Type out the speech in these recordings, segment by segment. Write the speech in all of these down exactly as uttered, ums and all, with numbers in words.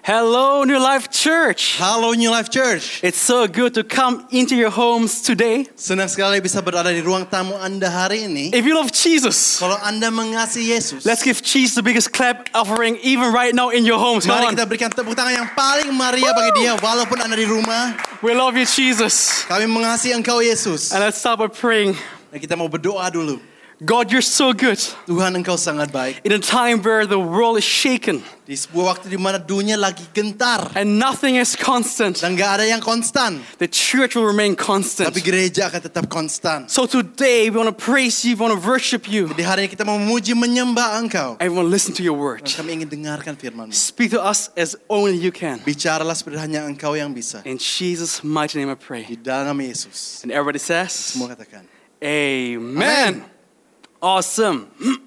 Hello, New Life Church. Halo New Life Church. It's so good to come into your homes today. Senang sekali bisa berada di ruang tamu Anda hari ini. If you love Jesus, Kalau Anda mengasihi Yesus, let's give Jesus the biggest clap offering even right now in your homes. Come mari on. kita berikan tepuk tangan yang paling meriah bagi Dia walaupun Anda di rumah. We love you, Jesus. Kami mengasihi Engkau Yesus. And let's start by praying. Dan kita mau berdoa dulu. God, you're so good. Tuhan, Engkau sangat baik. In a time where the world is shaken Di sebuah waktu di mana dunia lagi gentar and nothing is constant, dan gak ada yang konstan, the church will remain constant. tapi gereja akan tetap konstan. So today we want to praise you, we want to worship you, Jadi hari ini kita mau memuji menyembah Engkau. and we want to listen to your word. Dan kami ingin dengarkan firman-Mu. Speak to us as only you can. Bicaralah seperti hanya Engkau yang bisa. In Jesus' mighty name I pray. Di dalam Yesus. And everybody says, Semua katakan. Amen. Awesome.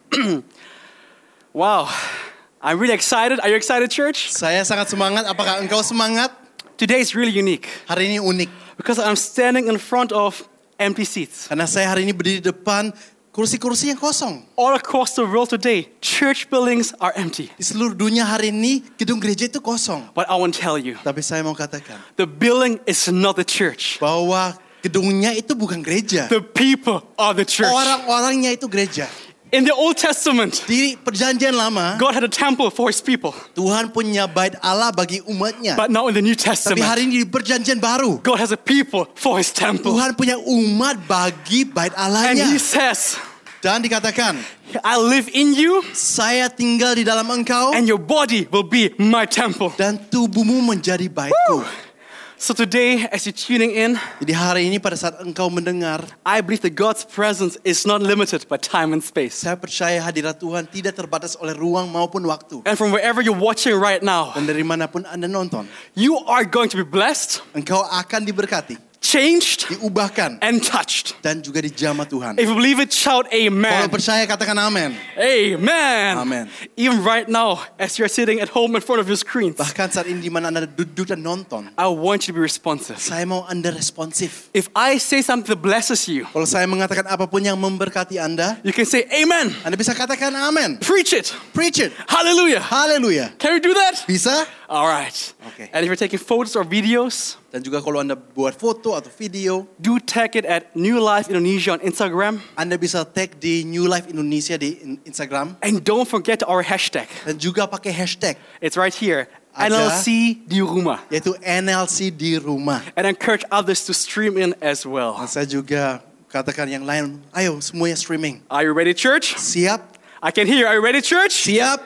Wow. I'm really excited. Are you excited, church? Saya sangat semangat. Apakah engkau semangat? Today is really unique Hari ini unik. because I'm standing in front of empty seats. Karena saya hari ini berdiri di depan kursi-kursi yang kosong. All across the world today, church buildings are empty. Di seluruh dunia hari ini, gedung gereja itu kosong. But I want to tell you, Tapi saya mau katakan the building is not the church. bahwa gedungnya itu bukan gereja. The people are the church. Orang-orangnya itu gereja. In the Old Testament, Di perjanjian lama, God had a temple for his people. Tuhan punya bait Allah bagi umatnya. But now in the New Tapi Testament, hari ini di perjanjian baru, God has a people for his temple. Tuhan punya umat bagi bait And Allahnya. he says, Dan dikatakan, I live in you saya tinggal di dalam engkau and your body will be my temple. dan tubuhmu menjadi baitku. So today, as you're tuning in, Jadi hari ini pada saat engkau mendengar, I believe that God's presence is not limited by time and space. saya percaya hadirat Tuhan tidak terbatas oleh ruang maupun waktu. And from wherever you're watching right now, Dan dari manapun Anda nonton, you are going to be blessed, engkau akan diberkati, changed, diubahkan, and touched. dan juga dijamah Tuhan. If you believe it, shout Kalau amen. percaya katakan amin. Amen. Amen. Even right now, as you're sitting at home in front of your screens, Bahkan saat ini di mana Anda duduk dan nonton, I want you to be responsive. saya mau Anda responsif. If I say something that blesses you, Kalau saya mengatakan apapun yang memberkati Anda, you can say amen. Anda bisa katakan amin. Preach it. Preach it. Hallelujah. Haleluya. Can we do that? Bisa? All right. Okay. And if you're taking photos or videos, Dan juga kalau Anda buat foto atau video, do tag it at New Life Indonesia on Instagram. Anda bisa tag di New Life Indonesia di in- Instagram. And don't forget our hashtag. Dan juga pakai hashtag, It's right here. Ada. N L C di rumah. yaitu N L C di rumah. And encourage others to stream in as well. Dan saya juga katakan yang lain, ayo semuanya streaming. Are you ready, church? Siap? I can hear. Are you ready, church? Siap?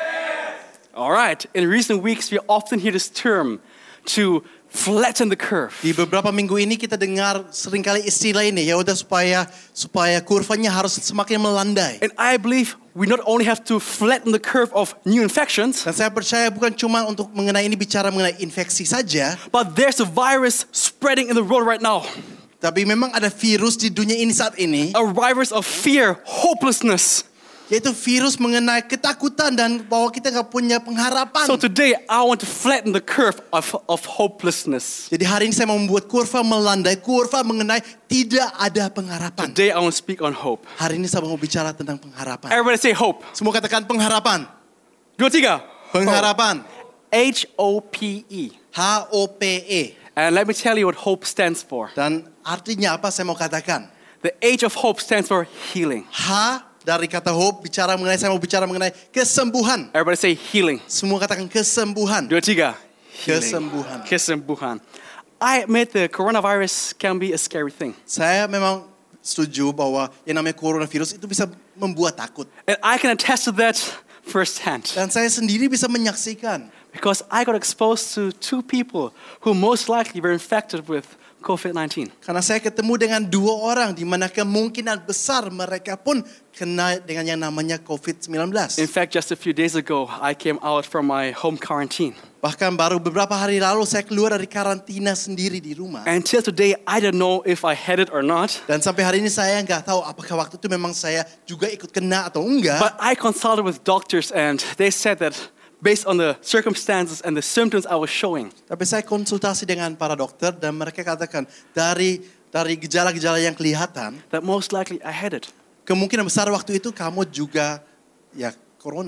All right. In recent weeks, we often hear this term to flatten the curve. Di beberapa minggu ini kita dengar seringkali istilah ini, ya udah supaya supaya kurvanya harus semakin melandai. And I believe we not only have to flatten the curve of new infections, Dan saya percaya bukan cuma untuk mengenai ini bicara mengenai infeksi saja, but there's a virus spreading in the world right now. tapi memang ada virus di dunia ini saat ini, A virus of fear, hopelessness. yaitu virus mengenai ketakutan dan bahwa kita nggak punya pengharapan. So today, I want to flatten the curve of, of hopelessness. Jadi hari ini saya mau membuat kurva melandai, kurva mengenai tidak ada pengharapan. Today, I want to speak on hope. Hari ini saya mau bicara tentang pengharapan. Everybody say hope. Semua katakan pengharapan. Dua, tiga. Pengharapan. H O P E. H O P E. And let me tell you what hope stands for. Dan artinya apa saya mau katakan? The H of hope stands for healing. H dari kata hope bicara mengenai, saya mau bicara mengenai kesembuhan. Everybody say healing. Semua katakan kesembuhan. Dua, tiga. Healing. Kesembuhan. Kesembuhan. I admit the coronavirus can be a scary thing. Saya memang setuju bahwa yang namanya coronavirus itu bisa membuat takut. And I can attest to that firsthand. Dan saya sendiri bisa menyaksikan. Because I got exposed to two people who most likely were infected with covid nineteen. Karena saya ketemu dengan dua orang di mana kemungkinan besar mereka pun kena dengan yang namanya covid sembilan belas. In fact, just a few days ago, I came out from my home quarantine. Bahkan baru beberapa hari lalu saya keluar dari karantina sendiri di rumah. Until today, I don't know if I had it or not. Dan sampai hari ini saya nggak tahu apakah waktu itu memang saya juga ikut kena atau enggak. But I consulted with doctors and they said that based on the circumstances and the symptoms I was showing, Tapi saya konsultasi dengan para dokter dan mereka katakan dari dari gejala-gejala yang kelihatan, that most likely I had it. kemungkinan besar waktu itu kamu juga ya corona.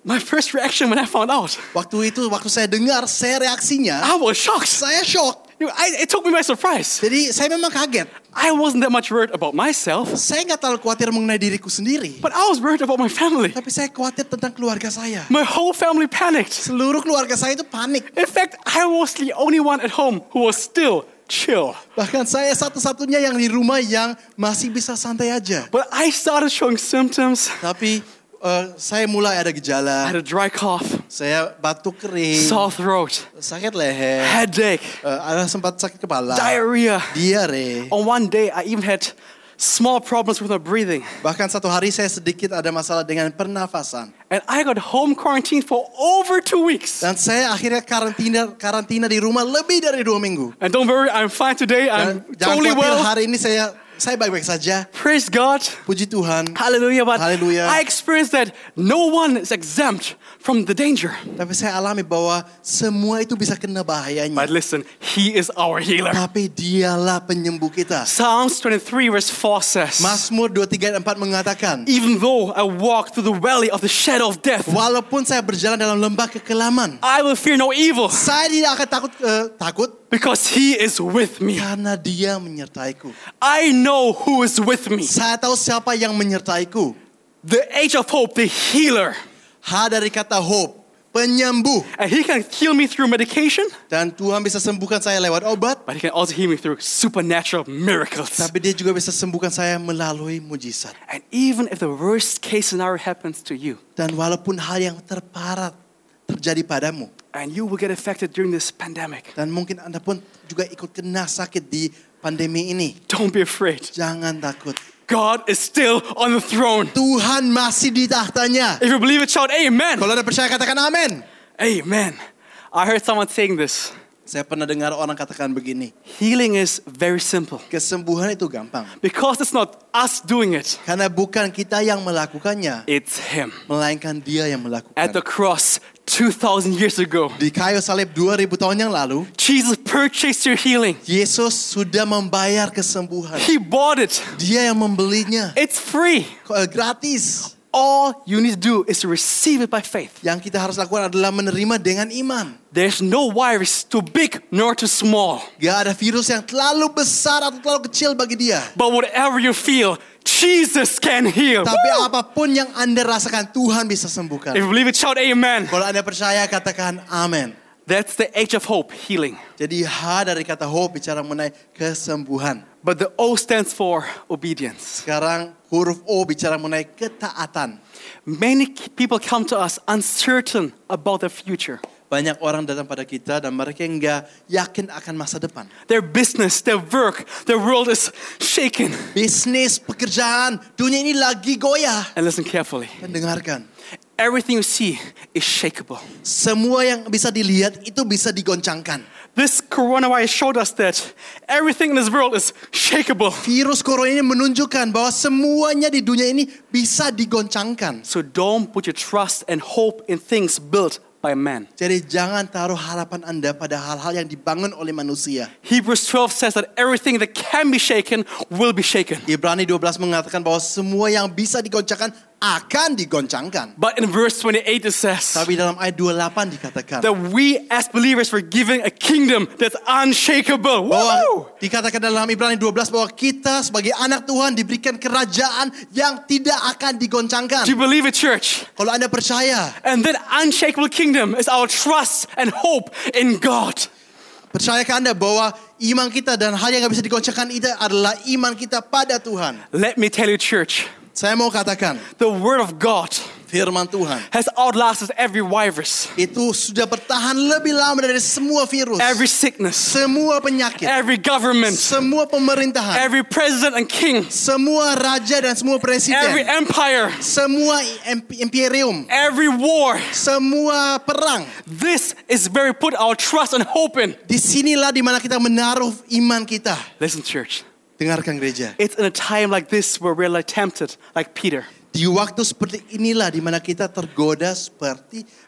My first reaction when I found out, Waktu itu, waktu saya dengar, saya reaksinya, I was shocked. saya shock. You know, I, it took me by surprise. Jadi saya memang kaget. I wasn't that much worried about myself, Saya nggak terlalu khawatir mengenai diriku sendiri. but I was worried about my family. Tapi saya khawatir tentang keluarga saya. My whole family panicked. Seluruh keluarga saya itu panik. In fact, I was the only one at home who was still chill. Bahkan saya satu-satunya yang di rumah yang masih bisa santai aja. But I started showing symptoms. Tapi uh, saya mulai ada I gejala. had a dry cough, Saya batuk kering, sore throat, sakit leher, headache, uh, ada sempat sakit kepala, diarrhea. diare. On one day, I even had small problems with my breathing. Bahkan satu hari saya sedikit ada masalah dengan pernafasan. And I got home quarantined for over two weeks. Dan saya akhirnya karantina karantina di rumah lebih dari dua minggu. And don't worry, I'm fine today. Dan I'm jangan totally khawatir, well. hari ini saya saya baik-baik saja. Praise God. Puji Tuhan. Hallelujah. But Hallelujah. I experienced that no one is exempt from the danger. Tapi saya alami bahwa semua itu bisa kena bahayanya. But listen, He is our healer. Tapi dialah penyembuh kita. Psalms twenty-three verse four says, Mazmur dua tiga empat mengatakan, even though I walk through the valley of the shadow of death, walaupun saya berjalan dalam lembah kekelaman, I will fear no evil saya tidak akan takut uh, takut because He is with me. karena Dia menyertaiku. I know who is with me. Saya tahu siapa yang menyertaiku. The age of hope, the healer. H dari kata hope, penyembuh. And He can heal me through medication, Dan Tuhan bisa sembuhkan saya lewat obat, but He can also heal me through supernatural miracles. tapi Dia juga bisa sembuhkan saya melalui mujizat. And even if the worst case scenario happens to you, Dan walaupun hal yang terparah terjadi padamu, and you will get affected during this pandemic, dan mungkin Anda pun juga ikut kena sakit di pandemi ini, don't be afraid. jangan takut. God is still on the throne. Tuhan masih di tahtanya. If you believe it, shout amen. Kalau Anda percaya, katakan amin. Amen. I heard someone saying this. Saya pernah dengar orang katakan begini, Healing is very simple kesembuhan itu gampang. because it's not us doing it. Karena bukan kita yang melakukannya, It's Him. melainkan Dia yang melakukan. At the cross two thousand years ago, Di kayu salib dua ribu tahun yang lalu, Jesus purchased your healing. Yesus sudah membayar kesembuhan. He bought it. Dia yang membelinya. It's free. Eh, gratis. All you need to do is to receive it by faith. Yang kita harus lakukan adalah menerima dengan iman. There's no virus too big nor too small. Gak ada virus yang terlalu besar atau terlalu kecil bagi Dia. But whatever you feel, Jesus can heal. Tapi Woo! apapun yang Anda rasakan, Tuhan bisa sembuhkan. If you believe it, shout amen. Kalau Anda percaya, katakan amin. That's the age of hope, healing. Jadi H dari kata hope bicara mengenai kesembuhan. But the O stands for obedience. Sekarang huruf O bicara mengenai ketaatan. Many people come to us uncertain about their future. Banyak orang datang pada kita dan mereka enggak yakin akan masa depan. Their business, their work, their world is shaken. Bisnis, pekerjaan, dunia ini lagi goyah. And listen carefully. Dan dengarkan, Everything you see is shakeable. semua yang bisa dilihat itu bisa digoncangkan. This coronavirus showed us that everything in this world is shakeable. Virus corona ini menunjukkan bahwa semuanya di dunia ini bisa digoncangkan. So don't put your trust and hope in things built by man. Jadi jangan taruh harapan Anda pada hal-hal yang dibangun oleh manusia. Hebrews twelve says that everything that can be shaken will be shaken. Ibrani dua belas mengatakan bahwa semua yang bisa digoncangkan akan digoncangkan. But in verse twenty-eight it says Tapi dalam ayat dua puluh delapan dikatakan that we as believers were given a kingdom that's unshakable. bahwa Woo! dikatakan dalam Ibrani dua belas bahwa kita sebagai anak Tuhan diberikan kerajaan yang tidak akan digoncangkan. Do you believe it, church? Kalau Anda percaya, And that unshakable kingdom is our trust and hope in God. percayakah Anda bahwa iman kita dan hal yang gak bisa digoncangkan itu adalah iman kita pada Tuhan? Let me tell you, church, Saya mau katakan, the word of God firman Tuhan has outlasted every virus, itu sudah bertahan lebih lama dari semua virus, every sickness, semua penyakit, every government, semua pemerintahan, every president and king, semua raja dan semua every presiden, empire, semua imp- imperium, every war. semua perang. This is where we put our trust and hope in. Disinilah dimana kita menaruh iman kita. Listen, church, Dengarkan gereja. it's in a time like this where we're like tempted, like Peter. Di waktu seperti inilah dimana kita tergoda seperti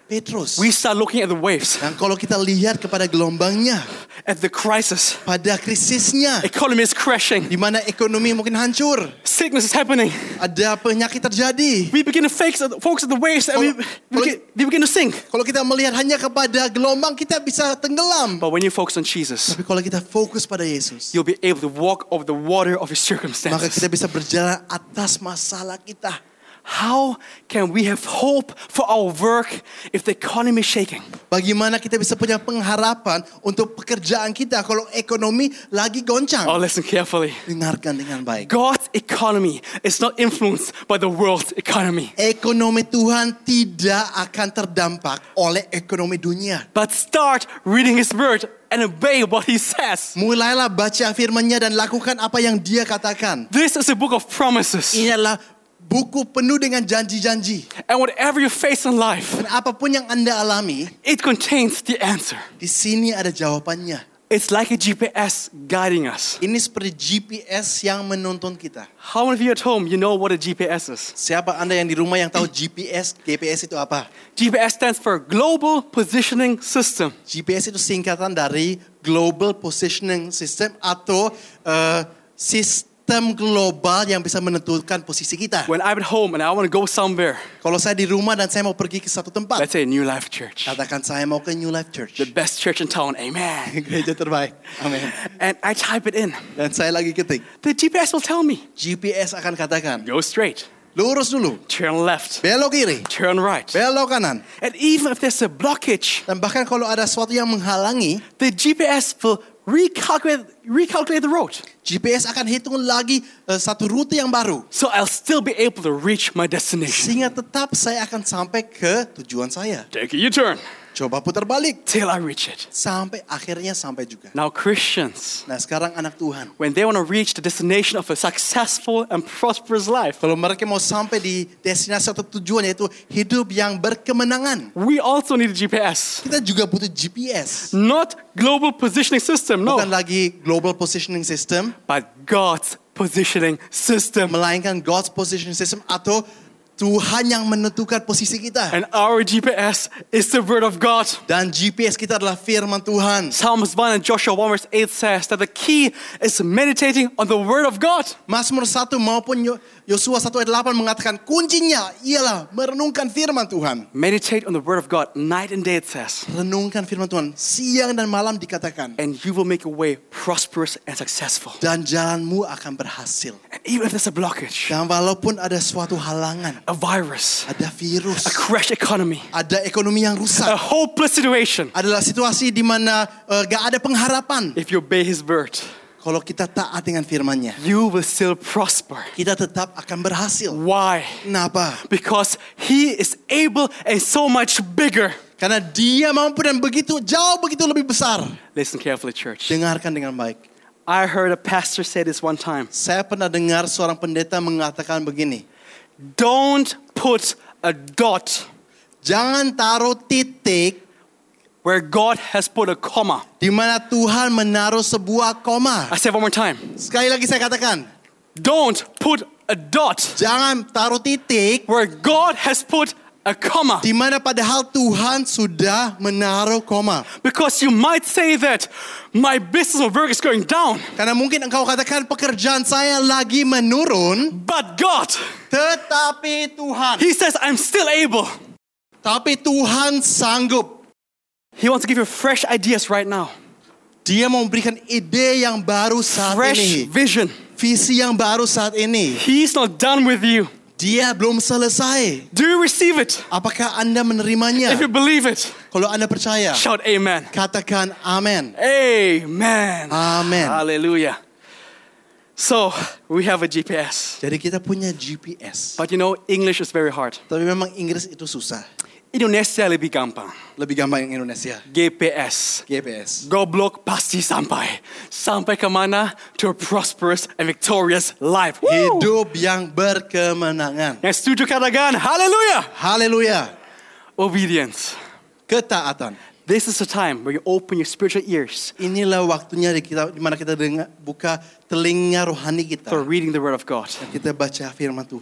Petrus. We start looking at the waves, Dan kalau kita lihat kepada gelombangnya, at the crisis. pada krisisnya, Economy is crashing. di mana ekonomi mungkin hancur, Sickness is happening. ada penyakit terjadi. We begin to focus focus at the waves and we, we, begin, we begin to sink. Kalau kita melihat hanya kepada gelombang, kita bisa tenggelam. But when you focus on Jesus, Tapi kalau kita fokus pada Yesus, you'll be able to walk over the water of your maka circumstances. kita bisa berjalan atas masalah kita. How can we have hope for our work if the economy is shaking? Bagaimana kita bisa punya pengharapan untuk pekerjaan kita kalau ekonomi lagi goncang? Oh, listen carefully. Dengarkan dengan baik. God's economy is not influenced by the world's economy. Ekonomi Tuhan tidak akan terdampak oleh ekonomi dunia. But start reading His Word and obey what He says. Mulailah baca firman-Nya dan lakukan apa yang Dia katakan. This is a book of promises. Ini adalah buku penuh dengan janji-janji. And whatever you face in life, Dan apapun yang Anda alami, it contains the answer. di sini ada jawabannya. It's like a G P S guiding us. Ini seperti G P S yang menuntun kita. How many of you at home, you know what a G P S is? Siapa Anda yang di rumah yang tahu G P S? G P S itu apa? G P S stands for Global Positioning System. G P S itu singkatan dari Global Positioning System atau uh, sistem global yang bisa menentukan posisi kita. When I'm at home and I want to go somewhere, Kalau saya di rumah dan saya mau pergi ke satu tempat, let's say New Life Church, katakan saya mau ke New Life Church. the best church in town, amen. Gereja terbaik. Amin. And I type it in. Dan saya lagi ketik. The G P S will tell me, G P S akan katakan, go straight, lurus dulu, turn left, belok kiri, turn right. belok kanan. And even if there's a blockage, Dan bahkan kalau ada sesuatu yang menghalangi, the G P S will recalculate, recalculate the road. G P S akan hitung lagi uh, satu rute yang baru. So I'll still be able to reach my destination. Sehingga tetap saya akan sampai ke tujuan saya. Take a U-turn Coba putar balik. till I reach it. Sampai akhirnya sampai juga. Now Christians, Nah sekarang anak Tuhan. when they want to reach the destination of a successful and prosperous life, Kalau mereka mau sampai di destinasi atau tujuan yaitu hidup yang berkemenangan. we also need a G P S. Kita juga butuh G P S. Not global positioning system, no. Bukan lagi Global Positioning System. But God's positioning system. Melainkan God's Positioning System atau Tuhan yang menentukan posisi kita. And our G P S is the Word of God. Dan G P S kita adalah firman Tuhan. Psalms one and Joshua one verse eight says that the key is meditating on the Word of God. Mazmur satu maupun Yosua satu ayat delapan mengatakan kuncinya ialah merenungkan firman Tuhan. Meditate on the Word of God night and day, it says. Renungkan firman Tuhan siang dan malam dikatakan. And you will make your way prosperous and successful. Dan jalanmu akan berhasil. And even if there's a blockage, Dan walaupun ada suatu halangan, a virus, ada virus, a crash economy, ada ekonomi yang a rusak, hopeless situation, adalah situasi di mana uh, gak ada pengharapan. if you obey His Word, Kalau kita taat dengan firman-Nya, you will still prosper. kita tetap akan berhasil. Why? Kenapa? Because He is able and so much bigger. Karena Dia mampu dan begitu jauh begitu lebih besar. Listen carefully, church. Dengarkan dengan baik. I heard a pastor say this one time. Saya pernah dengar seorang pendeta mengatakan begini. Don't put a dot Jangan taruh titik where God has put a comma. di mana Tuhan menaruh sebuah koma. I say it one more time. Sekali lagi saya katakan. Don't put a dot Jangan taruh titik where God has put a comma. di mana padahal Tuhan sudah menaruh koma. Because you might say that my business or work is going down, Karena mungkin engkau katakan pekerjaan saya lagi menurun. but God, Tetapi Tuhan. He says I'm still able. Tapi Tuhan sanggup. He wants to give you fresh ideas right now. Dia mau memberikan ide yang baru saat Fresh ini. vision. Visi yang baru saat ini. He's not done with you. Dia belum selesai. Do you receive it? Apakah Anda menerimanya? If you believe it, Kalau Anda percaya, shout amen. katakan amin. Amen. Amen. Hallelujah. So, we have a G P S. Jadi kita punya G P S. But you know, English is very hard. Tapi memang Inggris itu susah. Indonesia lebih gampang. Lebih gampang yang Indonesia. G P S. G P S. Goblok pasti sampai. Sampai kemana? To a prosperous and victorious life. Woo! Hidup yang berkemenangan. Yang setuju katakan, hallelujah. Haleluya. Obedience. Ketaatan. This is the time where you open your spiritual ears Inilah waktunya di kita di mana kita dengar buka telinga rohani kita. for reading the Word of God. Kita baca firman Tuhan.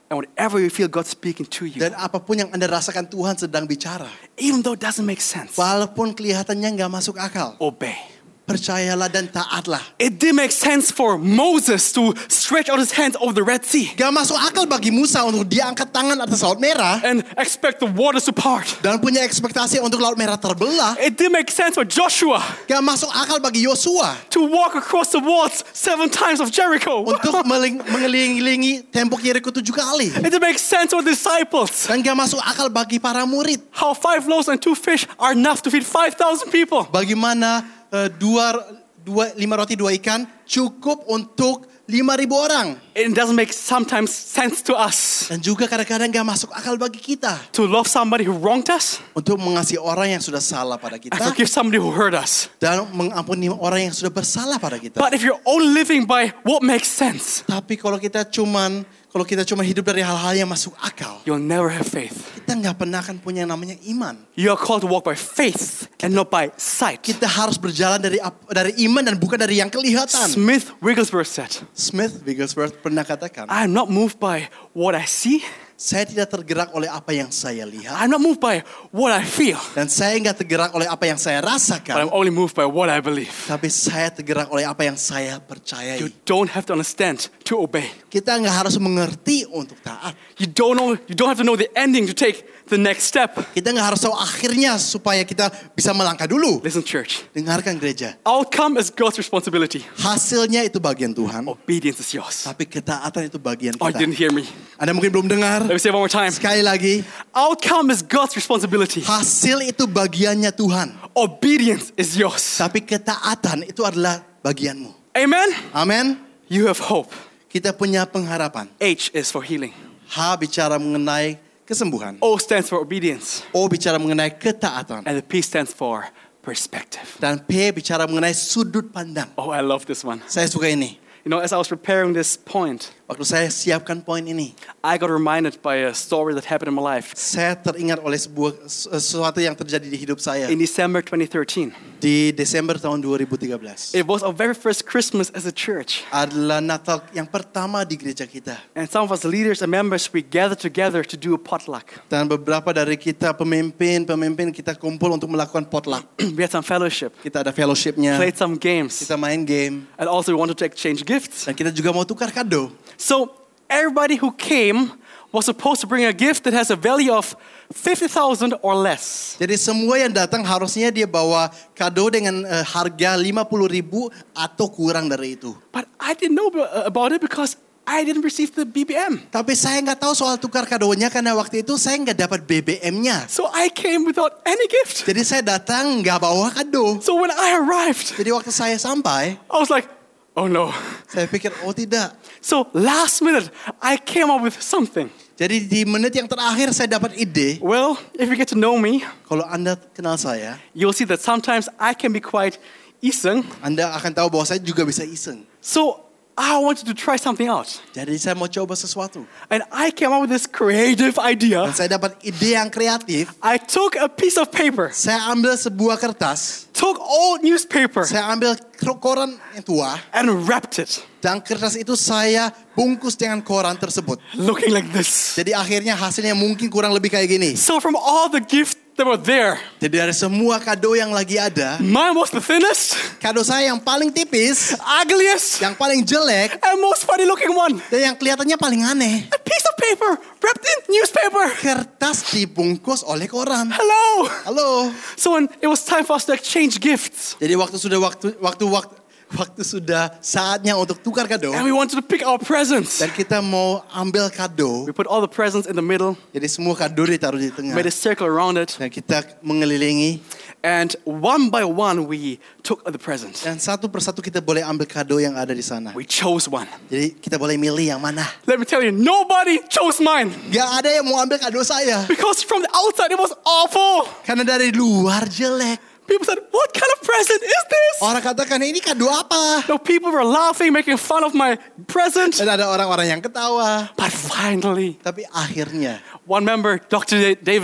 And whatever you feel God speaking to you, Dan apapun yang Anda rasakan Tuhan sedang bicara. even though it doesn't make sense, Walaupun kelihatannya nggak masuk akal. obey. Percayalah dan taatlah. It did make sense for Moses to stretch out his hands over the Red Sea Gak masuk akal bagi Musa untuk dia angkat tangan atas Laut Merah. and expect the waters to part. Dan punya ekspektasi untuk Laut Merah terbelah. It did make sense for Joshua Gak masuk akal bagi Yosua. to walk across the walls seven times of Jericho. Untuk meling- mengelilingi tembok Yeriko tujuh kali. It did make sense for the disciples. Dan gak masuk akal bagi para murid. How five loaves and two fish are enough to feed five thousand people. Bagaimana uh, dua, dua, lima roti dua ikan cukup untuk lima ribu orang. It doesn't make sometimes sense to us Dan juga kadang-kadang gak masuk akal bagi kita. to love somebody who wronged us Untuk mengasihi orang yang sudah salah pada and kita. forgive somebody who hurt us. Dan mengampuni orang yang sudah bersalah pada kita. But if you're only living by what makes sense, Tapi kalau kita cuman kalau kita cuma hidup dari hal-hal yang masuk akal, you'll never have faith. kita nggak pernah akan punya yang namanya iman. You are called to walk by faith and not by sight. Kita harus berjalan dari ap- dari iman dan bukan dari yang kelihatan. Smith Wigglesworth said, Smith Wigglesworth pernah katakan, I'm not moved by what I see. saya tidak tergerak oleh apa yang saya lihat. I'm not moved by what I feel. Dan saya nggak tergerak oleh apa yang saya But rasakan. I'm only moved by what I believe. Tapi saya tergerak oleh apa yang saya You percayai. don't have to understand to obey. Kita nggak harus mengerti untuk taat. You don't know, you don't have to know the ending to take the next step. Kita nggak harus tahu akhirnya supaya kita bisa melangkah dulu. Listen, church. Dengarkan gereja. Outcome is God's responsibility. Hasilnya itu bagian Tuhan. Obedience is yours. Tapi ketaatan itu bagian Oh, you kita. didn't hear me. Anda mungkin belum dengar. Let me say it one more time. Sekali lagi, Outcome is God's responsibility. hasil itu bagiannya Tuhan. Obedience is yours. Tapi ketaatan itu adalah bagianmu. Amen? Amin. You have hope. Kita punya pengharapan. H is for healing. H bicara mengenai kesembuhan. O stands for obedience. O bicara mengenai ketaatan. And the P stands for perspective. Dan P bicara mengenai sudut pandang. Oh, I love this one. Saya suka ini. You know, as I was preparing this point, Waktu saya siapkan poin ini, I got reminded by a story that happened in my life. saya teringat oleh sebuah sesuatu yang terjadi di hidup saya In December twenty thirteen, di Desember tahun dua ribu tiga belas. it was our very first Christmas as a church. Adalah Natal yang pertama di gereja kita. And some of us leaders and members, we gathered together to do a potluck. Dan beberapa dari kita pemimpin-pemimpin kita kumpul untuk melakukan potluck. We had some fellowship, Kita ada fellowship-nya, played some games, kita main game, and also we wanted to exchange gifts. dan kita juga mau tukar kado. So everybody who came was supposed to bring a gift that has a value of fifty thousand or less. Jadi semua yang datang harusnya dia bawa kado dengan uh, harga lima puluh ribu atau kurang dari itu. But I didn't know about it because I didn't receive the B B M. Tapi saya nggak tahu soal tukar kadonya karena waktu itu saya nggak dapat B B M-nya. So I came without any gift. Jadi saya datang nggak bawa kado. So when I arrived, Jadi waktu saya sampai, I was like, oh no. saya pikir oh tidak. So last minute, I came up with something. Jadi di menit yang terakhir saya dapat ide. Well, if you get to know me, Kalau Anda kenal saya, you'll see that sometimes I can be quite iseng. Anda akan tahu bahwa saya juga bisa iseng. So I wanted to try something out. Jadi saya mau coba sesuatu. And I came up with this creative Dan idea. saya dapat ide yang kreatif. I took a piece of paper, Saya ambil sebuah kertas. took old newspaper, Saya ambil koran yang tua. and wrapped it, Dan kertas itu saya bungkus dengan koran tersebut. looking like this. Jadi akhirnya hasilnya mungkin kurang lebih kayak gini. So from all the gifts that were there, Jadi dari semua kado yang lagi ada, mine was the thinnest, kado saya yang paling tipis, ugliest, yang paling jelek, and most funny looking one. dan yang kelihatannya paling aneh. A piece of paper wrapped in newspaper. Kertas dibungkus oleh koran. Hello. Halo. So when it was time for us to exchange gifts, Jadi waktu sudah waktu waktu waktu waktu sudah saatnya untuk tukar kado. and we wanted to pick our presents, Dan kita mau ambil kado. we put all the presents in the middle, Jadi semua kado ditaruh di tengah. made a circle around it, Dan kita mengelilingi. and one by one we took the presents. Dan satu persatu kita boleh ambil kado yang ada di sana. We chose one. Jadi kita boleh milih yang mana. Let me tell you, nobody chose mine Gak ada yang mau ambil kado saya. because from the outside it was awful. Karena dari luar jelek. People said, "What kind of present is this?" Orang katakan ini kado apa? No, people were laughing, making fun of my present. Dan ada orang-orang yang ketawa. But finally, Tapi akhirnya one member, Doctor Da- David,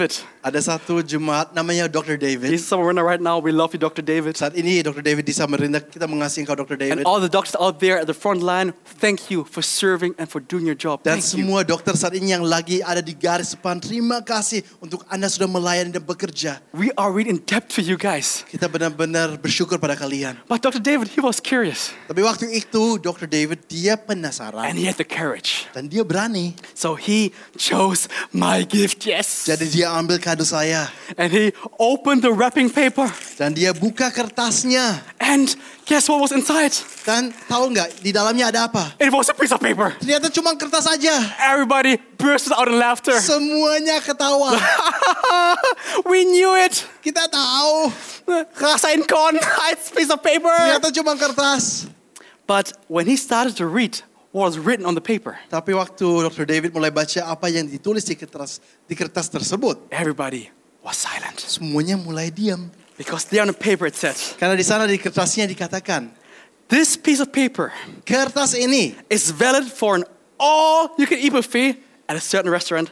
Ada satu jemaat namanya dokter David. He's somewhere right now. We love you, Doctor David. Saat ini dokter David di Samarinda, kita mengasihi engkau dokter And David. all the doctors out there at the front line, thank you for serving and for doing your job. Dan Thank you. semua dokter saat ini yang lagi ada di garis depan, terima kasih untuk Anda sudah melayani dan bekerja. We are really in debt to you guys. Kita benar-benar bersyukur pada kalian. But Doctor David, he was curious. Tapi waktu itu dokter David dia penasaran And he had the courage. dan dia berani. So he chose my gift, yes. Jadi dia ambil kado saya And he opened the wrapping paper. dan dia buka kertasnya. And guess what was inside? Dan tahu nggak di dalamnya ada apa? It was a piece of paper. Ternyata cuma kertas aja. Everybody burst out in laughter. Semuanya ketawa. We knew it. Kita tahu. Rasain kon, it's a piece of paper. Ternyata cuma kertas. But when he started to read what was written on the paper, Tapi waktu dokter David mulai baca apa yang ditulis di kertas di kertas tersebut, everybody was silent. semuanya mulai diam. Because there on the paper it said, Karena di sana di kertasnya dikatakan, this piece of paper kertas ini is valid for an all-you-can-eat buffet at a certain restaurant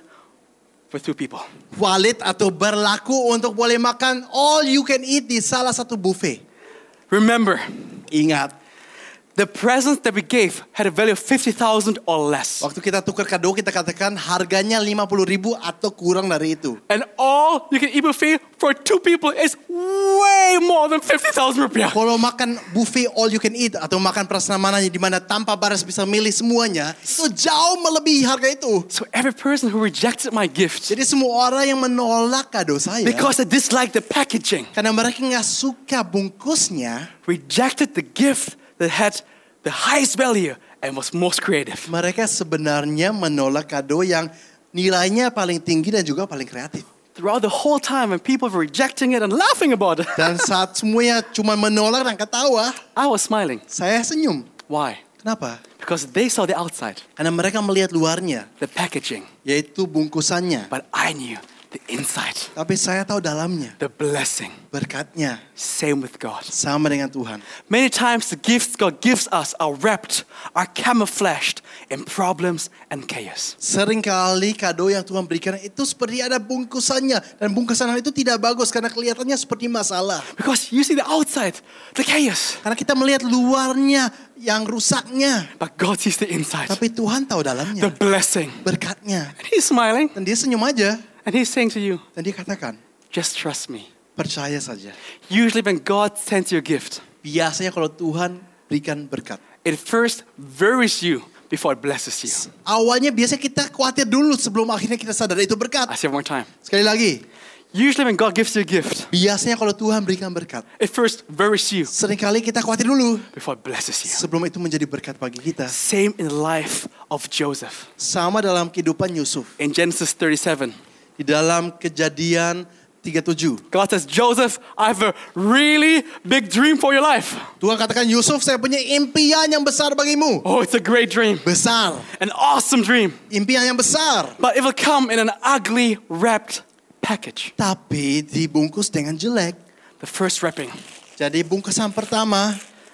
for two people. valid atau berlaku untuk boleh makan all you can eat di salah satu buffet. Remember, Ingat, the presents that we gave had a value of fifty thousand or less. waktu kita tukar kado kita katakan harganya lima puluh ribu atau kurang dari itu. And all-you-can-eat buffet for two people is way more than fifty thousand rupiah. Kalau makan buffet all you can eat atau makan prasmanan di mana tanpa baras bisa milih semuanya, itu jauh melebihi harga itu. So every person who rejected my gift Jadi semua orang yang menolak kado saya because they disliked the packaging, karena mereka nggak suka bungkusnya, rejected the gift that had the highest value and was most creative. mereka sebenarnya menolak kado yang nilainya paling tinggi dan juga paling kreatif. Throughout the whole time when people were rejecting it and laughing about it, Dan saat semuanya cuma menolak dan ketawa, I was smiling. saya senyum. Why? Kenapa? Because they saw the outside, Karena mereka melihat luarnya, the packaging, yaitu bungkusannya. but I knew the inside, Tapi saya tahu dalamnya, the blessing. berkatnya Same with God. sama dengan Tuhan. Many times the gifts God gives us are wrapped, are camouflaged in problems and chaos. Seringkali kado yang Tuhan berikan itu seperti ada bungkusannya. Dan bungkusan itu tidak bagus karena kelihatannya seperti masalah. Because you see the outside, the chaos, Karena kita melihat luarnya yang rusaknya. but God sees the inside, Tapi Tuhan tahu the dalamnya, blessing. berkatnya. And He's smiling Dan dia senyum aja. and He's saying to you, Dan dia katakan, just trust me. percaya saja. Usually when God sends you a gift, Biasanya kalau Tuhan berikan berkat, it first worries you before it blesses you. awalnya biasanya kita khawatir dulu sebelum akhirnya kita sadar itu berkat. I say it one more time. Sekali lagi, Usually when God gives you a gift, biasanya kalau Tuhan berikan berkat, it first worries you seringkali kita khawatir dulu before it blesses you. sebelum itu menjadi berkat bagi kita. Same in the life of Joseph. Sama dalam kehidupan Yusuf. In Genesis thirty-seven, Di dalam Kejadian tiga puluh tujuh, God says, Joseph, I have a really big dream for your life. Tuhan katakan, Yusuf, saya punya impian yang besar bagimu. Oh, it's a great dream, Besar. an awesome dream. Impian yang besar. But it will come in an ugly wrapped package. Tapi dibungkus dengan jelek. The first wrapping, Jadi bungkusan pertama,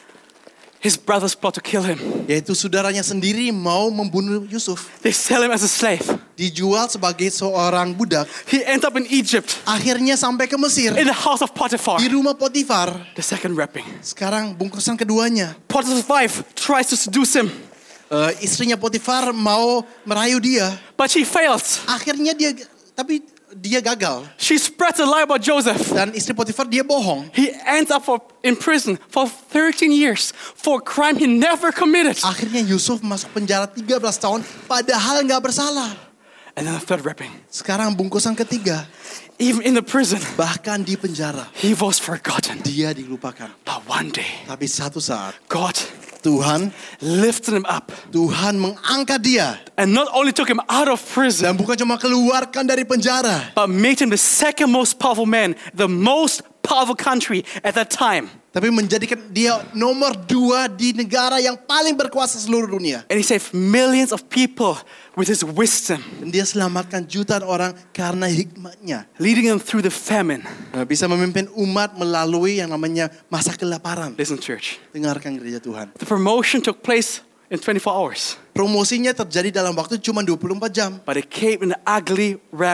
his brothers plot to kill him. yaitu saudaranya sendiri mau membunuh Yusuf. They sell him as a slave. Dijual sebagai seorang budak. He ends up in Egypt, Akhirnya sampai ke Mesir. in the house of Potiphar. Di rumah Potifar. The second wrapping, Sekarang bungkusan keduanya. Potiphar's wife tries to seduce him, Uh, istrinya Potifar mau merayu dia. but she fails. Akhirnya dia, tapi dia gagal. She spreads a lie about Joseph. Dan istri Potifar dia bohong. He ends up for, in prison for thirteen years for a crime he never committed. Akhirnya Yusuf masuk penjara tiga belas tahun padahal nggak bersalah. And then the third wrapping, Sekarang bungkusan ketiga, even in the prison, bahkan di penjara he was forgotten. dia dilupakan. But one day, Tapi satu saat God Tuhan lifted him up Tuhan mengangkat dia and not only took him out of prison, dan bukan cuma keluarkan dari penjara, but made him the second most powerful man, the most powerful country at that time. tapi menjadikan dia nomor dua di negara yang paling berkuasa seluruh dunia. And he saved millions of people with his wisdom, Dan dia selamatkan jutaan orang karena hikmatnya. leading them through the famine. Nah, bisa memimpin umat melalui yang namanya masa kelaparan. Listen, church. Dengarkan gereja Tuhan. The promotion took place in twenty-four hours, Promosinya terjadi dalam waktu cuma dua puluh empat jam. but it came in an ugly wrapped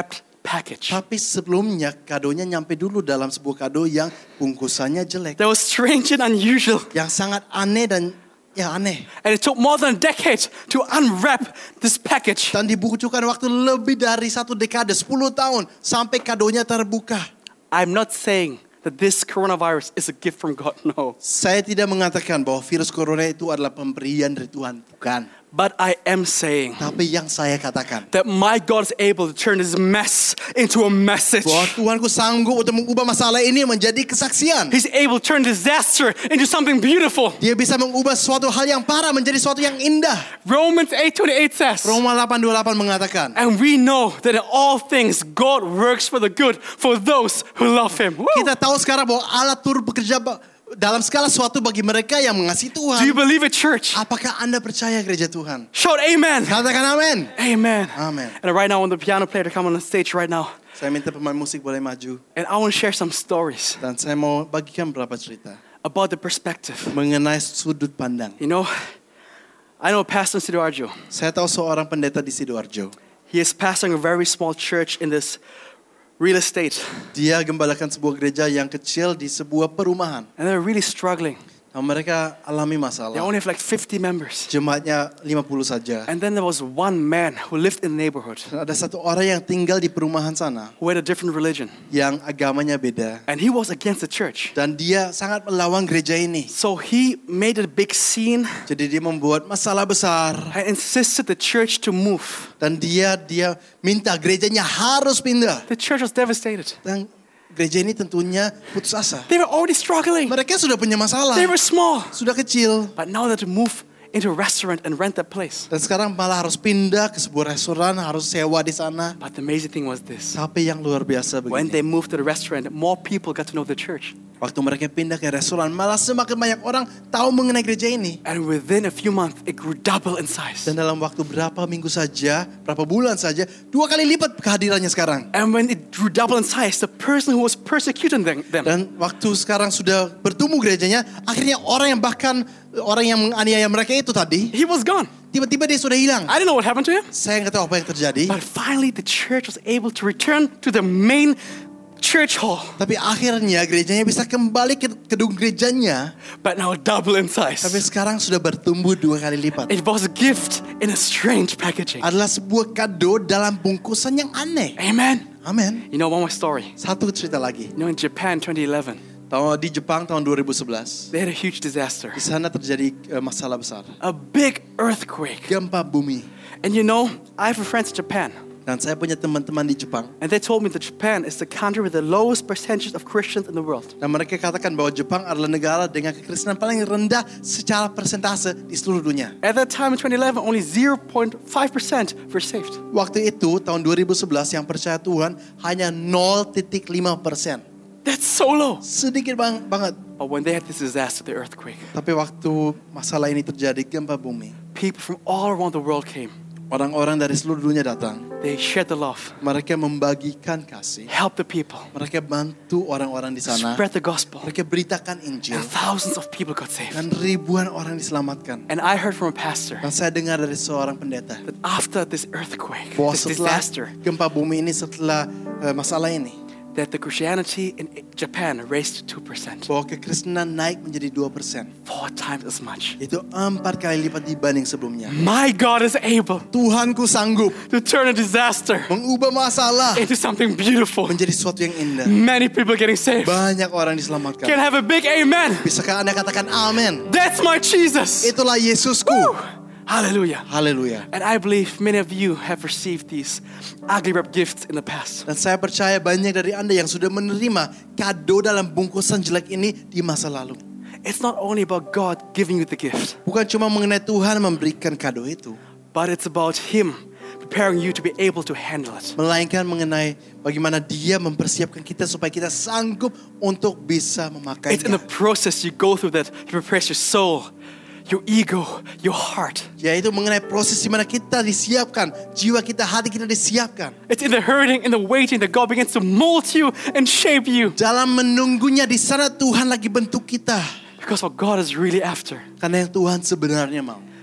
package. Tapi sebelumnya kadonya nyampe dulu dalam sebuah kado yang bungkusannya jelek. That was strange and unusual. Yang sangat aneh dan ya aneh. And it took more than a decade to unwrap this package. Dan dibutuhkan waktu lebih dari satu dekade, sepuluh tahun sampai kadonya terbuka. I'm not saying that this coronavirus is a gift from God. No. Saya tidak mengatakan bahwa virus corona itu adalah pemberian dari Tuhan, bukan. But I am saying Tapi yang saya katakan, that my God is able to turn this mess into a message. bahwa Tuhanku sanggup untuk mengubah masalah ini menjadi kesaksian. He's able to turn disaster into something beautiful. Dia bisa mengubah suatu hal yang parah menjadi suatu yang indah. Romans eight twenty-eight says, Roma delapan dua puluh delapan mengatakan, and we know that in all things God works for the good for those who love Him. Woo! kita tahu sekarang bahwa Allah turut bekerja ba- dalam segala sesuatu bagi mereka yang mengasihi Do you Tuhan. believe it, church? Apakah Anda percaya gereja Tuhan? Shout amen. Katakan amin. Amen. Amen. And right now, I want the piano player to come on the stage right now. Saya minta pemain musik boleh maju. And I want to share some stories Dan saya mau bagikan beberapa cerita about the perspective. mengenai sudut pandang. You know, I know Pastor Sidoarjo. Saya tahu seorang pendeta di Sidoarjo. He is pastoring a very small church in this real estate. Dia gembalakan sebuah gereja yang kecil di sebuah perumahan. And they're really struggling. Nah, mereka alami They masalah. only have like fifty members. Jemaatnya lima puluh saja. And then there was one man who lived in the neighborhood Dan ada satu orang yang tinggal di perumahan sana who had a different religion. yang agamanya beda. And he was against the church. Dan dia sangat melawan gereja ini. So he made a big scene Jadi dia membuat masalah besar. and insisted the church to move. Dan dia dia minta gerejanya harus pindah. The church was devastated. Dan gereja ini tentunya putus asa. They were already struggling. Mereka sudah punya masalah. They were small. Sudah kecil. But now they had to move into a restaurant and rent that place. Dan sekarang malah harus pindah ke sebuah restoran, harus sewa di sana. But the amazing thing was this. Tapi yang luar biasa When begini. they moved to the restaurant, more people got to know the church. Waktu mereka pindah ke restoran, malah semakin banyak orang tahu mengenai gereja ini. And within a few months, it grew double in size. Dan dalam waktu berapa minggu saja, berapa bulan saja, dua kali lipat kehadirannya sekarang. And when it grew double in size, the person who was persecuting them, them Dan waktu sekarang sudah bertumbuh gerejanya, akhirnya orang yang bahkan orang yang menganiaya mereka itu tadi, he was gone. tiba-tiba dia sudah hilang. I didn't know what happened to him. Saya nggak tahu apa yang terjadi. But finally, the church was able to return to the main church hall. Tapi akhirnya gerejanya bisa kembali ke gedung gerejanya. But now double in Tapi size. sekarang sudah bertumbuh dua kali lipat. It was a gift in a strange packaging. Adalah sebuah kado dalam bungkusan yang aneh. Amen. Amin. You know one more story. Satu cerita lagi. You know in Japan twenty eleven, Tahu di Jepang tahun dua ribu sebelas, they had a huge disaster. di sana terjadi eh, masalah besar. A big earthquake. Gempa bumi. And you know, I have a friend in Japan. Dan saya punya teman-teman di Jepang. And they told me that Japan is the country with the lowest percentage of Christians in the world. Dan mereka katakan bahwa Jepang adalah negara dengan kekristenan paling rendah secara persentase di seluruh dunia. At that time in twenty eleven, only zero point five percent were saved. Waktu itu tahun dua ribu sebelas yang percaya Tuhan hanya nol koma lima persen. That's so low. Sedikit bang, banget. But when they had this disaster, the earthquake, Tapi waktu masalah ini terjadi gempa bumi, people from all around the world came. orang-orang dari seluruh dunia datang. They shared the love, Mereka membagikan kasih. helped the people, Mereka bantu orang-orang di sana. spread the gospel, Mereka beritakan Injil. and thousands of people got saved. Dan ribuan orang diselamatkan. And I heard from a pastor Dan saya dengar dari seorang pendeta that after this earthquake, bahwa this setelah disaster, gempa bumi ini, setelah uh, masalah ini, that the Christianity in Japan raised two percent, bahwa kekristenan naik menjadi dua persen. four times as much. Itu empat kali lipat dibanding sebelumnya. My God is able Tuhanku sanggup to turn a disaster mengubah masalah into something beautiful. menjadi sesuatu yang indah. Many people getting saved. Banyak orang diselamatkan. Can I have a big amen? Bisakah Anda katakan amin? That's my Jesus. Itulah Yesusku. Hallelujah. Haleluya. And I believe many of you have received these ugly wrap gifts in the past. Dan saya percaya banyak dari Anda yang sudah menerima kado dalam bungkusan jelek ini di masa lalu. It's not only about God giving you the gift, Bukan cuma mengenai Tuhan memberikan kado itu, but it's about Him preparing you to be able to handle it. melainkan mengenai bagaimana Dia mempersiapkan kita supaya kita sanggup untuk bisa It's in the memakainya. process you go through that He prepares your soul, your ego, your heart. Yaitu mengenai proses di mana kita disiapkan, jiwa kita, hati kita disiapkan. It's in the hurting, in the waiting that God begins to mold you and shape you. Dalam menunggunya di sana Tuhan lagi bentuk kita. Because what God is really after, Karena yang Tuhan sebenarnya mau,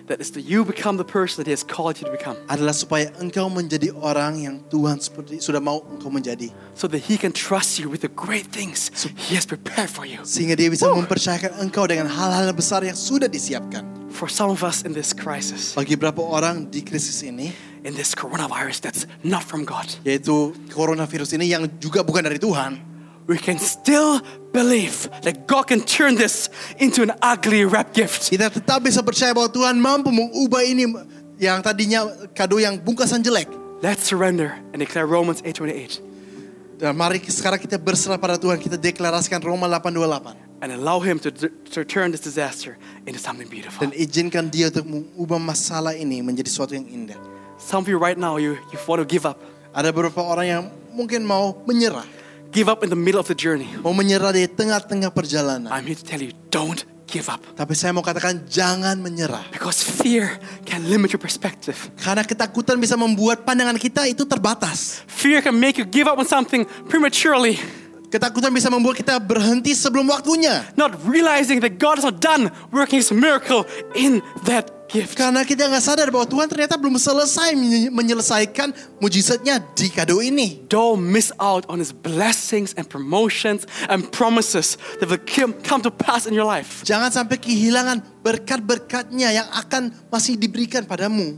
that is that you become the person that He has called you to become. adalah supaya engkau menjadi orang yang Tuhan seperti sudah mau engkau menjadi. So that He can trust you with the great things He has prepared for you. Sehingga Dia bisa mempercayakan engkau dengan hal-hal besar yang sudah disiapkan. For some of us in this crisis, Bagi beberapa orang di krisis ini, in this coronavirus that's not from God, yaitu coronavirus ini yang juga bukan dari Tuhan, we can still believe that God can turn this into an ugly wrap gift. kita tetap bisa percaya bahwa Tuhan mampu mengubah ini yang tadinya kado yang bungkasan jelek. Let's surrender and declare Romans eight twenty-eight Dan mari sekarang kita berserah pada Tuhan, kita deklarasikan Roma delapan dua puluh delapan. and allow Him to, to turn this disaster into something beautiful. Dan izinkan Dia untuk mengubah masalah ini menjadi sesuatu yang indah. Some of you right now, you, you want to give up. Ada beberapa orang yang mungkin mau menyerah. Give up in the middle of the journey. Mau menyerah di tengah-tengah perjalanan. I'm here to tell you, don't give up. Tapi saya mau katakan jangan menyerah. Because fear can limit your perspective. Karena ketakutan bisa membuat pandangan kita itu terbatas. Fear can make you give up on something prematurely, Ketakutan bisa membuat kita berhenti sebelum waktunya. not realizing that God is not done working His miracle in that gift. Karena kita nggak sadar bahwa Tuhan ternyata belum selesai menye- menyelesaikan mujizatnya di kado ini. Don't miss out on His blessings and promotions and promises that will come come to pass in your life. Jangan sampai kehilangan berkat-berkatnya yang akan masih diberikan padamu.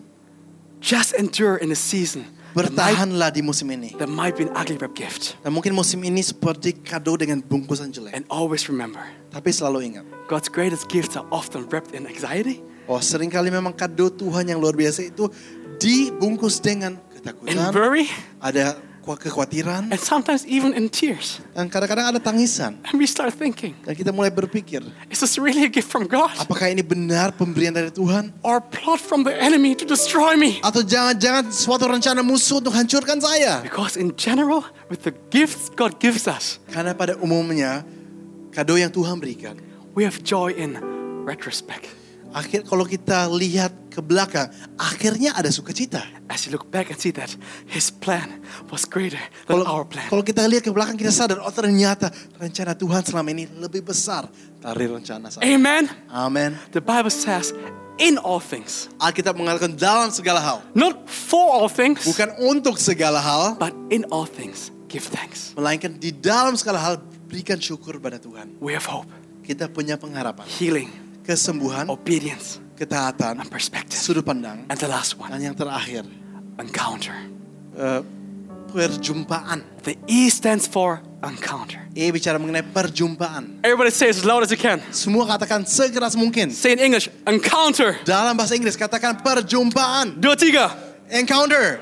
Just endure in the season. That might, Bertahanlah di musim ini. that might be an ugly wrap gift. Dan mungkin musim ini seperti kado dengan bungkusan jelek. And always remember, Tapi selalu ingat, God's greatest gifts are often wrapped in anxiety, oh seringkali memang kado Tuhan yang luar biasa itu dibungkus dengan in ketakutan, worry, ada ku- kekhawatiran, and sometimes even in tears. dan kadang-kadang ada tangisan. And we start thinking, Dan kita mulai berpikir, is this really a gift from God? apakah ini benar pemberian dari Tuhan? Or a plot from the enemy to destroy me? Atau jangan-jangan suatu rencana musuh untuk hancurkan saya? Because in general, with the gifts God gives us, Karena pada umumnya, kado yang Tuhan berikan, we have joy in retrospect. akhir kalau kita lihat ke belakang, akhirnya ada sukacita. As you look back and see that His plan was greater than Kalau our plan. kalau kita lihat ke belakang, kita sadar, oh ternyata rencana Tuhan selama ini lebih besar dari rencana saya. Amen. Amin. The Bible says, in all things, Alkitab mengatakan dalam segala hal, not for all things, bukan untuk segala hal, but in all things, give thanks. melainkan di dalam segala hal berikan syukur pada Tuhan. We have hope, Kita punya pengharapan, healing, kesembuhan, obedience, ketaatan, and perspective. sudut pandang, And the last one, dan yang terakhir, encounter. eh, perjumpaan. The E stands for encounter. E bicara mengenai perjumpaan. Everybody say it as loud as you can. Semua katakan sekeras mungkin. Say in English, encounter. Dalam bahasa Inggris katakan perjumpaan. Dua tiga. Encounter.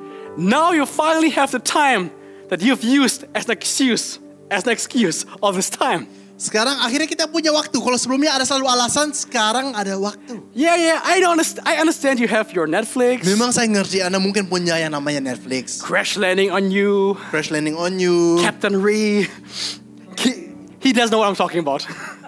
Now you finally have the time that you've used as an excuse, as an excuse all this time. Sekarang akhirnya kita punya waktu. Kalau sebelumnya ada selalu alasan, sekarang ada waktu. Yeah, yeah, I don't understand. I understand you have your Netflix, Memang saya ngerti Anda mungkin punya yang namanya Netflix. Crash Landing on You, Crash Landing on You. Captain Ree. He, he does know what I'm talking about.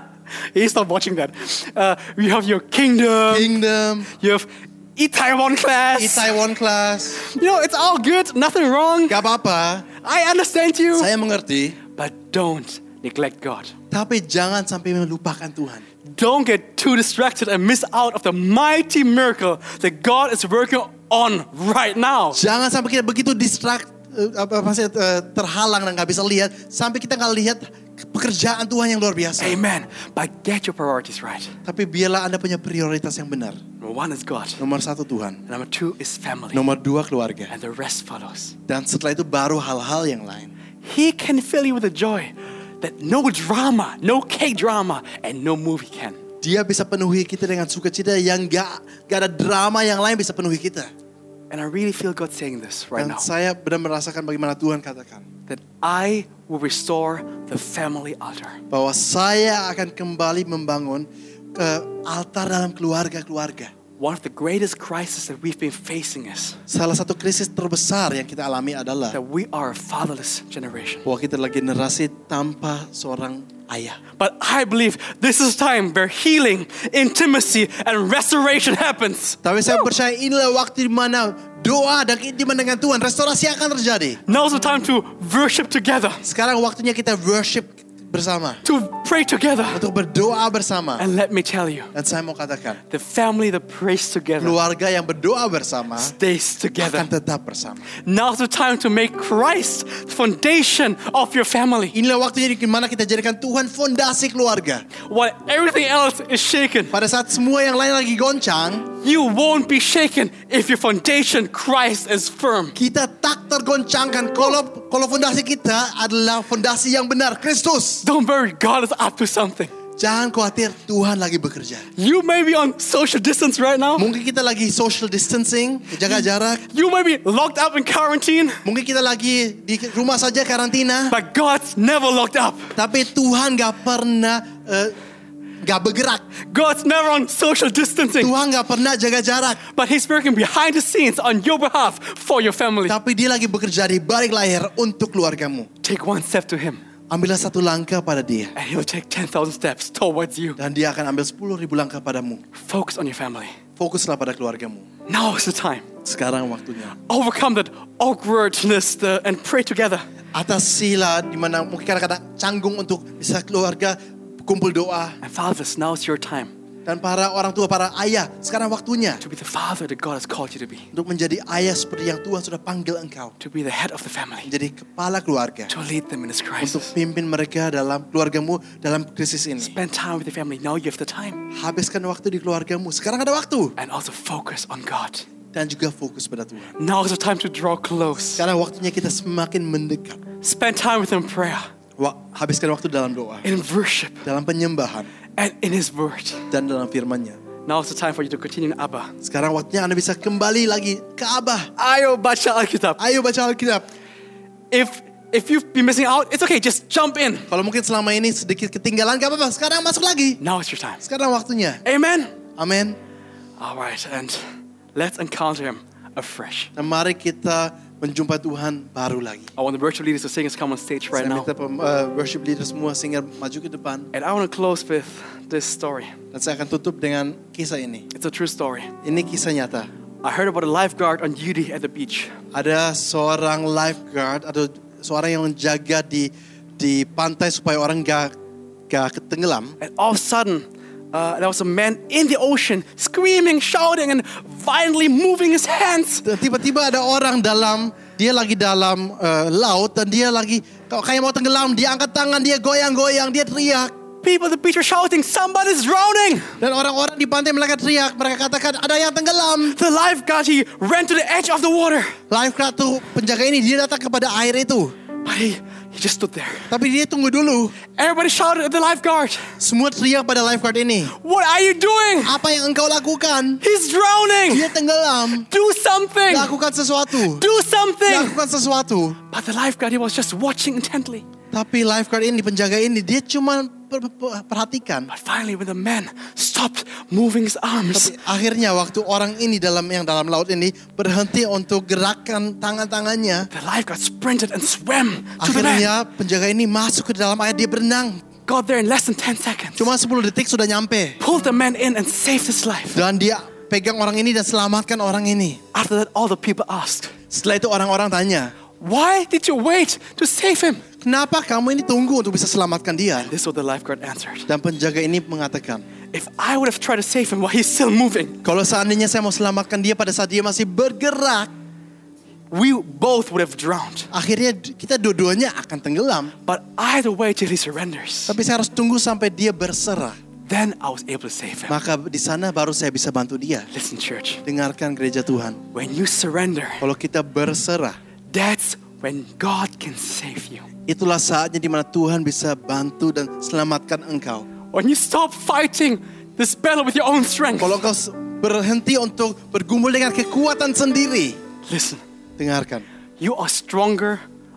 He's not watching that. Uh, you have your Kingdom. Kingdom. You have Itaewon Class. Itaewon Class. You know, it's all good. Nothing wrong. Gak apa-apa. I understand you. Saya mengerti. But don't neglect God. Tapi jangan sampai melupakan Tuhan. Don't get too distracted and miss out of the mighty miracle that God is working on right now. Jangan sampai kita begitu distract, eh, apa maksudnya, eh, terhalang dan gak bisa lihat. Sampai kita gak lihat pekerjaan Tuhan yang luar biasa. Amen. But get your priorities right. Tapi biarlah Anda punya prioritas yang benar. Number one is God. Nomor satu Tuhan. Number two is family. Nomor dua keluarga. And the rest follows. Dan setelah itu baru hal-hal yang lain. He can fill you with a joy that no drama, no K-drama, and no movie can. Dia bisa penuhi kita dengan sukacita yang gak, gak ada drama yang lain bisa penuhi kita. And I really feel God saying this right Dan now. saya benar merasakan bagaimana Tuhan katakan. That I will restore the family altar. Bahwa saya akan kembali membangun ke altar dalam keluarga-keluarga. One of the greatest crises that we've been facing is Salah satu krisis terbesar yang kita alami adalah that we are a fatherless generation. bahwa kita lagi generasi tanpa seorang ayah. But I believe this is time where healing, intimacy, and restoration happens. Tapi saya percaya inilah waktu di mana doa dan keintiman dengan Tuhan, restorasi akan terjadi. Now's the time to worship together. Sekarang waktunya kita worship bersama. to pray together. Untuk berdoa bersama. And let me tell you, Dan saya mau katakan, the family that prays together keluarga yang berdoa bersama stays together. akan tetap bersama. Now's the time to make Christ the foundation of your family. Inilah waktunya di mana kita jadikan Tuhan fondasi keluarga. While everything else is shaken, Pada saat semua yang lain lagi goncang, you won't be shaken if your foundation, Christ, is firm. kita tak tergoncangkan kalau kalau fondasi kita adalah fondasi yang benar, Kristus. Don't worry, God is up to something. Jangan khawatir, Tuhan lagi bekerja. You may be on social distance right now. Mungkin kita lagi social distancing, jaga jarak. You may be locked up in quarantine. Mungkin kita lagi di rumah saja karantina. But God's never locked up. Tapi Tuhan gak pernah uh, gak bergerak. God's never on social distancing. Tuhan gak pernah jaga jarak. But He's working behind the scenes on your behalf for your family. Tapi dia lagi bekerja di balik layar untuk keluargamu. Take one step to Him, Ambillah satu langkah pada dia. and He'll take ten thousand steps towards you. Dan dia akan ambil sepuluh ribu langkah padamu. Focus on your family. Fokuslah pada keluargamu. Now is the time. Sekarang waktunya. Overcome that awkwardness the, and pray together. Atasilah di mana mungkin kadang-kadang canggung untuk bisa keluarga kumpul doa. And fathers, now is your time Dan para orang tua, para ayah, sekarang waktunya to be the father that God has called you to be. untuk menjadi ayah seperti yang Tuhan sudah panggil engkau. To be the head of the family. Menjadi kepala keluarga. To lead them in this Untuk crisis. pimpin mereka dalam keluargamu dalam krisis ini. Spend time with the family. Now you have the time. Habiskan waktu di keluargamu. Sekarang ada waktu. And also focus on God. Dan juga fokus pada Tuhan. Now is the time to draw close. Sekarang waktunya kita semakin mendekat. Spend time with Him in prayer, Wa- Habiskan waktu dalam doa. in worship, Dalam penyembahan. and in His Word. Dan dalam firman-Nya. Now is the time for you to continue in Abba. Sekarang waktunya Anda bisa kembali lagi ke Abah. Ayo baca Alkitab. Ayo baca Alkitab. If if you've been missing out, it's okay. Just jump in. Kalau mungkin selama ini sedikit ketinggalan, gak apa-apa. Sekarang masuk lagi. Now is your time. Sekarang waktunya. Amen. Amin. All right, and let's encounter Him afresh. Dan mari kita menjumpai Tuhan baru lagi. I want the worship leaders to sing us come on stage right Saya now. minta pem- uh, worship leader semua singa maju ke depan. And I want to close with this story. Dan saya akan tutup dengan kisah ini. It's a true story. Ini kisah nyata. I heard about a lifeguard on duty at the beach. Ada seorang lifeguard atau seorang yang menjaga di di pantai supaya orang gak gak ketenggelam. And all of a sudden, uh, there was a man in the ocean screaming, shouting, and violently moving his hands. Dan tiba-tiba ada orang dalam, dia lagi dalam uh, laut dan dia lagi kayak mau tenggelam. Dia angkat tangan, dia goyang-goyang, dia teriak. People at the beach were shouting, somebody's drowning. Dan orang-orang di pantai mereka teriak, mereka katakan ada yang tenggelam. The lifeguard, he ran to the edge of the water. Lifeguard tuh penjaga ini dia datang kepada air itu. But he, he just stood there. Tapi dia tunggu dulu. Everybody shouted at the lifeguard, Semua teriak pada lifeguard ini. what are you doing? Apa yang engkau lakukan? He's drowning. Dia tenggelam. Do something. Lakukan sesuatu. Do something. Lakukan sesuatu. But the lifeguard, he was just watching intently. Tapi lifeguard ini, penjaga ini, dia cuma per- per- perhatikan. But finally, when the man stopped moving his arms, Tapi akhirnya waktu orang ini dalam yang dalam laut ini berhenti untuk gerakan tangan-tangannya. the lifeguard sprinted and swam to the man. Akhirnya penjaga ini masuk ke dalam air, dia berenang. Got there in less than ten seconds. Cuma sepuluh detik sudah nyampe. Pulled the man in and saved his life. Dan dia pegang orang ini dan selamatkan orang ini. After that, all the people asked, Setelah itu orang-orang tanya, why did you wait to save him? kenapa kamu ini tunggu untuk bisa selamatkan dia? This is what the lifeguard answered. Dan penjaga ini mengatakan, If I would have tried to save him while he's still moving, kalau seandainya saya mau selamatkan dia pada saat dia masih bergerak, we both would have drowned. akhirnya kita dua-duanya akan tenggelam. But I had to wait till he surrenders. Tapi saya harus tunggu sampai dia berserah. Then I was able to save him. Maka di sana baru saya bisa bantu dia. Listen, church, Dengarkan gereja Tuhan. when you surrender, Kalau kita berserah, that's when God can save you. itulah saatnya di mana Tuhan bisa bantu dan selamatkan engkau. When you stop fighting this battle with your own strength. Kalau engkau berhenti untuk bergumul dengan kekuatan sendiri, Listen, dengarkan. you are stronger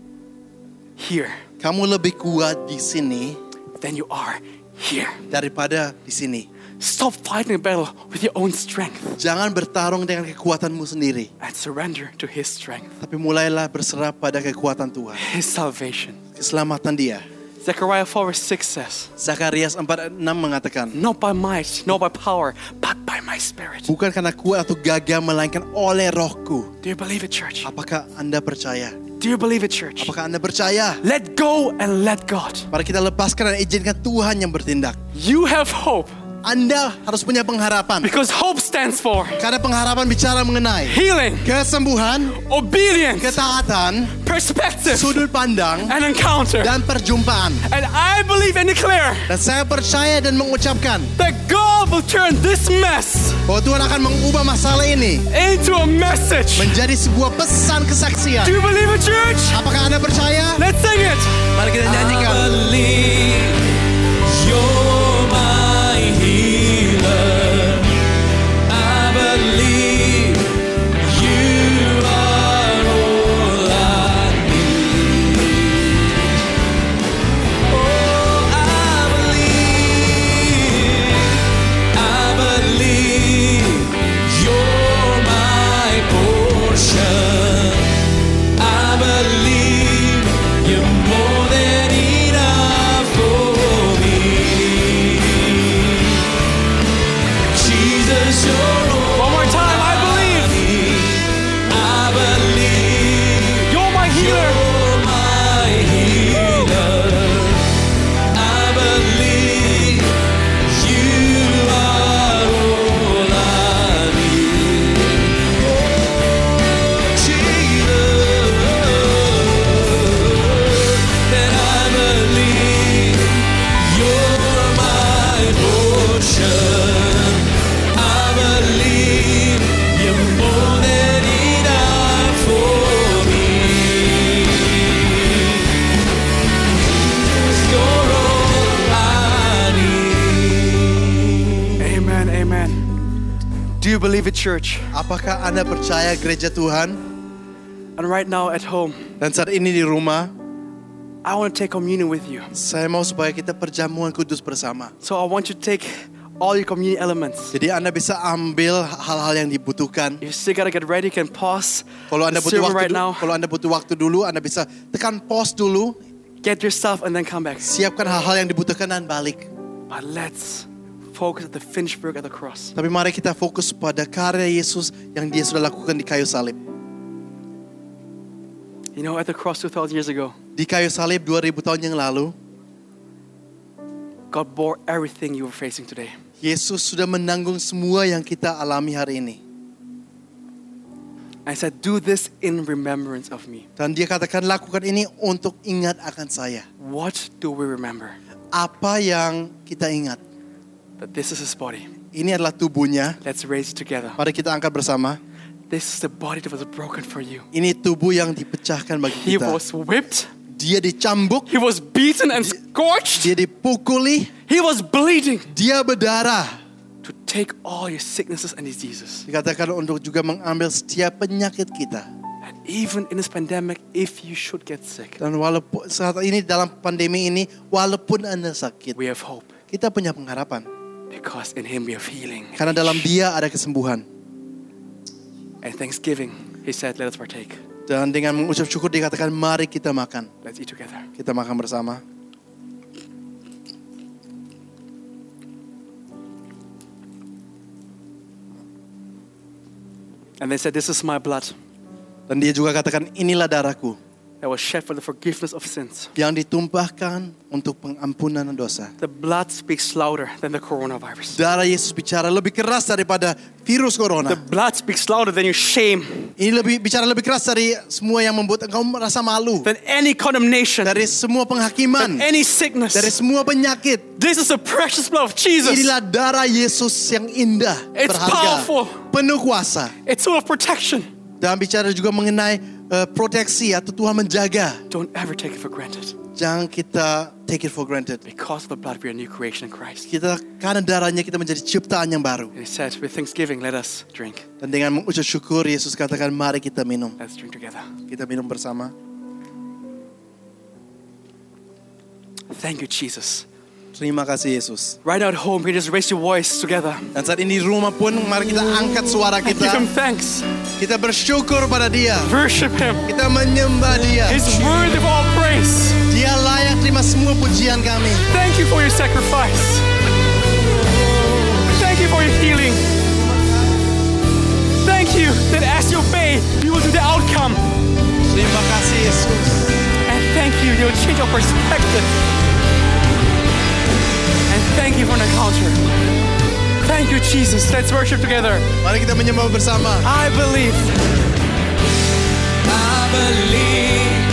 here Kamu lebih kuat di sini than you are here. daripada di sini. Stop fighting a battle with your own strength Jangan bertarung dengan kekuatanmu sendiri, and surrender to His strength, tapi mulailah berserah pada kekuatan Tuhan. His salvation. Keselamatan dia. Zechariah four verse six says, Zakarias empat enam mengatakan, not by might, not by power, but by my spirit. bukan karena kuat atau gagah, melainkan oleh rohku. Do you believe it, church? Apakah Anda percaya? Do you believe it, church? Apakah Anda percaya? Let go and let God. Mari kita lepaskan dan izinkan Tuhan yang bertindak. You have hope. Anda harus punya pengharapan. Because hope stands for Karena pengharapan bicara mengenai healing, kesembuhan, obedience, ketaatan, perspective, sudut pandang, and encounter. dan perjumpaan. And I believe and declare Dan saya percaya dan mengucapkan that God will turn this mess bahwa Tuhan akan mengubah masalah ini into a message. menjadi sebuah pesan kesaksian. Do you believe it, church? Apakah Anda percaya? Let's sing it. Mari kita nyanyikan. I believe you're my healer. I believe you are all I need. Oh, I believe, I believe you're my portion. I believe you're more than enough for me. Jesus, you're all One more time. I believe I believe you're my healer. you're my healer. I believe you are all I need. Oh, Jesus, and I believe you're my portion. I believe you're more than enough for me. You're all I need. Amen, amen. Do you believe it, church? Apakah Anda percaya gereja Tuhan? And right now at home, Dan saat ini di rumah, I want to take communion with you. saya mau supaya kita perjamuan kudus bersama. So I want you to take all your communion elements. Jadi Anda bisa ambil hal-hal yang dibutuhkan. If you still gotta get ready, you can pause Kalau Anda the butuh sermon waktu, right dulu, now. kalau Anda butuh waktu dulu, Anda bisa tekan pause dulu, Get your stuff and then come back. siapkan hal-hal yang dibutuhkan dan balik. But let's focus at the finished work at the cross. Tapi mari kita fokus pada karya Yesus yang Dia sudah lakukan di kayu salib. You know, at the cross two thousand years ago, Di kayu salib dua ribu tahun yang lalu, God bore everything you were facing today. Yesus sudah menanggung semua yang kita alami hari ini. I said, do this in remembrance of me. Dan Dia katakan lakukan ini untuk ingat akan saya. What do we remember? Apa yang kita ingat? That this is his body. Ini adalah tubuhnya. Let's raise it together. Mari kita angkat bersama. This is the body that was broken for you. Ini tubuh yang dipecahkan bagi He kita. was whipped. Dia dicambuk, He was beaten and scorched. dia dipukuli, He was bleeding dia berdarah. to take all your sicknesses and diseases. Dikatakan untuk juga mengambil setiap penyakit kita. And even in this pandemic, if you should get sick, Dan walaupun saat ini dalam pandemi ini, walaupun Anda sakit, we have hope. kita punya pengharapan. Because in him we have healing. Karena dalam Dia ada kesembuhan. And thanksgiving, he said, let us partake. Dan dengan mengucap syukur dikatakan mari kita makan. Let's eat together. Kita makan bersama. And they said, this is my blood Dan Dia juga katakan inilah darahku that was shed for the forgiveness of sins. yang ditumpahkan untuk pengampunan dosa. The blood speaks louder than the coronavirus. Darah Yesus bicara lebih keras daripada virus The corona. blood speaks louder than your shame, Ini lebih bicara lebih keras dari semua yang membuat engkau merasa malu, than any condemnation, dari semua than penghakiman, any sickness. dari semua penyakit. This is the precious blood of Jesus. Inilah darah Yesus yang indah, It's berharga, powerful. penuh kuasa. It's full of protection. Dan bicara juga mengenai uh, proteksi atau Tuhan menjaga. Don't ever take it for granted. Jangan kita take it for granted. Because of the blood, we are a new creation in Christ. Kita karena darahnya kita menjadi ciptaan yang baru. And he said, with thanksgiving, let us drink. Dan dengan mengucap syukur Yesus katakan mari kita minum. Let's drink together. Kita minum bersama. Thank you, Jesus. Terima kasih Yesus. Right now at home, you just raise your voice together. Dan saat ini di rumah pun mari kita angkat suara Give him kita. thanks. Kita bersyukur pada Dia. Worship him. Kita menyembah Dia. He's worthy of all praise. Dia layak terima semua pujian kami. Thank you for your sacrifice. Thank you for your healing. Thank you that as you obey, you will do the outcome. Terima kasih Yesus. Yesus. And thank you, you'll change our perspective. And thank you for an encounter. Thank you, Jesus. Let's worship together. Mari kita menyembah bersama. I believe. I believe